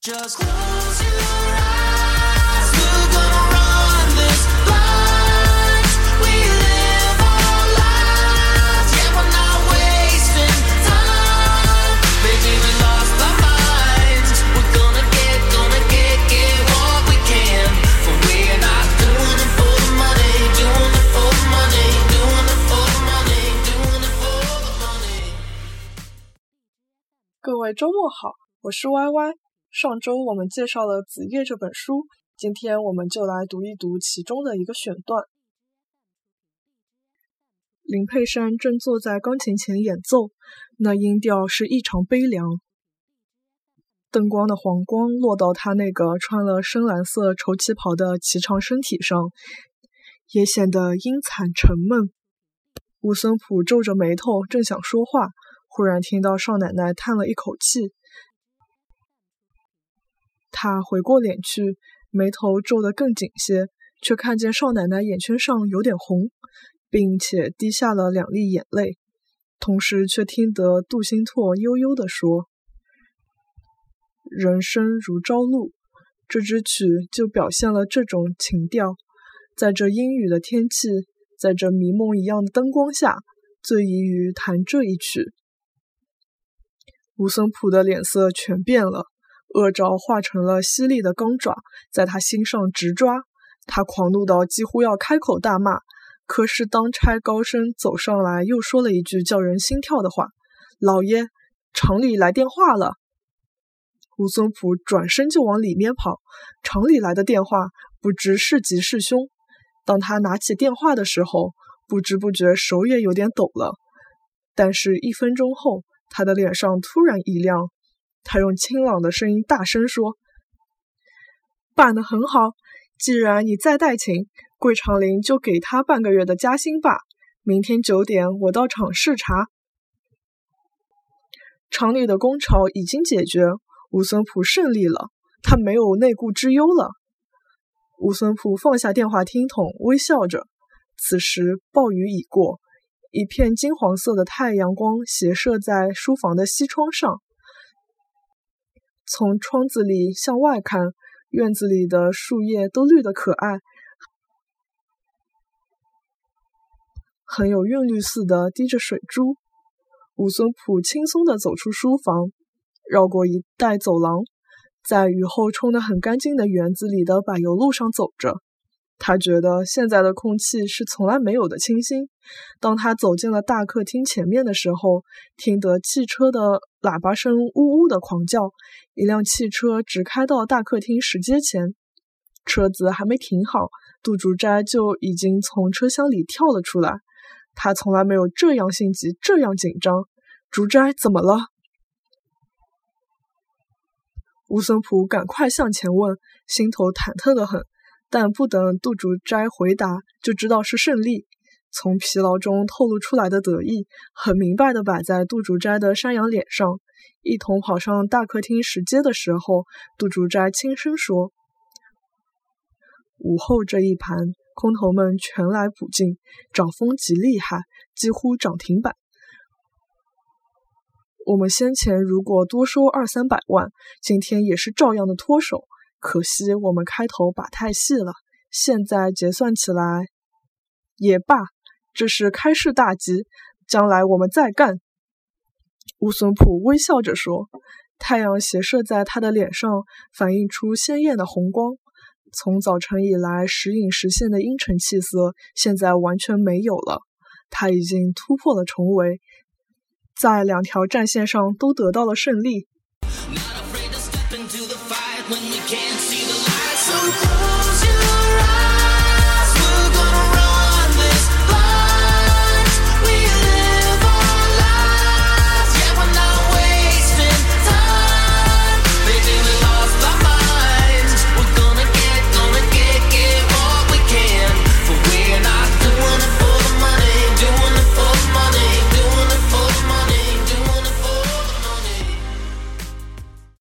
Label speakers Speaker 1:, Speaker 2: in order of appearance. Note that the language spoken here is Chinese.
Speaker 1: Just close your eyes, we're gonna run this blind. We live our lives, yeah, we're not wasting time. Baby, we lost our minds. We're gonna get what we can. But we're not doing it for the money, doing it for the money, doing it for the money, doing it for the money.
Speaker 2: 各位周末好，我是 YY。上周我们介绍了《子夜》这本书，今天我们就来读一读其中的一个选段。林佩珊正坐在钢琴前演奏，那音调是异常悲凉。灯光的黄光落到她那个穿了深蓝色绸旗袍的颀长身体上，也显得阴惨沉闷。吴森普皱着眉头，正想说话，忽然听到少奶奶叹了一口气。他回过脸去，眉头皱得更紧些，却看见少奶奶眼圈上有点红，并且滴下了2粒眼泪，同时却听得杜兴拓悠悠地说：人生如朝露，这支曲就表现了这种情调，在这阴雨的天气，在这迷梦一样的灯光下，最宜于弹这一曲。吴森普的脸色全变了，恶兆化成了犀利的钢爪，在他心上直抓。他狂怒到几乎要开口大骂，可是当差高声走上来，又说了一句叫人心跳的话：老爷，厂里来电话了。吴森普转身就往里面跑，厂里来的电话不知是吉是凶。当他拿起电话的时候，不知不觉手也有点抖了，但是1分钟后，他的脸上突然一亮，他用清朗的声音大声说：办得很好，既然你再带请，桂长林就给他半个月的加薪吧。明天9点我到厂视察。厂里的工潮已经解决，吴森普胜利了，他没有内顾之忧了。吴森普放下电话听筒，微笑着。此时暴雨已过，一片金黄色的太阳光斜射在书房的西窗上。从窗子里向外看，院子里的树叶都绿得可爱，很有韵律似的滴着水珠。吴森普轻松地走出书房，绕过一带走廊，在雨后冲得很干净的园子里的柏油路上走着。他觉得现在的空气是从来没有的清新。当他走进了大客厅前面的时候，听得汽车的喇叭声呜呜的狂叫，一辆汽车直开到大客厅石阶前。车子还没停好，杜竹斋就已经从车厢里跳了出来。他从来没有这样心急，这样紧张。竹斋怎么了？吴森普赶快向前问，心头忐忑得很，但不等杜竹斋回答，就知道是胜利。从疲劳中透露出来的得意，很明白地摆在杜竹斋的山羊脸上。一同跑上大客厅石阶的时候，杜竹斋轻声说：午后这一盘，空头们全来补进，涨风极厉害，几乎涨停板。我们先前如果多收200-300万，今天也是照样的脱手，可惜我们开头把太细了，现在结算起来也罢，这是开市大吉，将来我们再干。吴森普微笑着说，太阳斜射在他的脸上，反映出鲜艳的红光。从早晨以来时隐时现的阴沉气色，现在完全没有了。他已经突破了重围，在2条战线上都得到了胜利。
Speaker 1: Not afraid to step into the fight when we can't see the light. So close